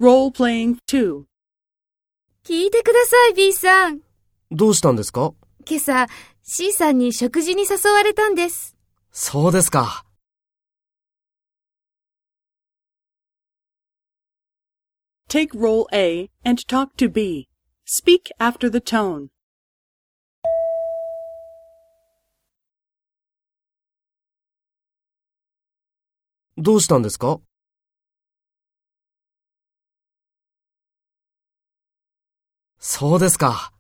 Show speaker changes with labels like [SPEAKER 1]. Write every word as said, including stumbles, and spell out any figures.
[SPEAKER 1] Role-playing two.
[SPEAKER 2] 聞いてください、B さん。
[SPEAKER 3] どうしたんですか？
[SPEAKER 2] 今朝、C さんに食事に誘われたんです。
[SPEAKER 3] そうですか。
[SPEAKER 1] Take role A and talk to B. Speak after the tone.
[SPEAKER 3] どうしたんですか？そうですか。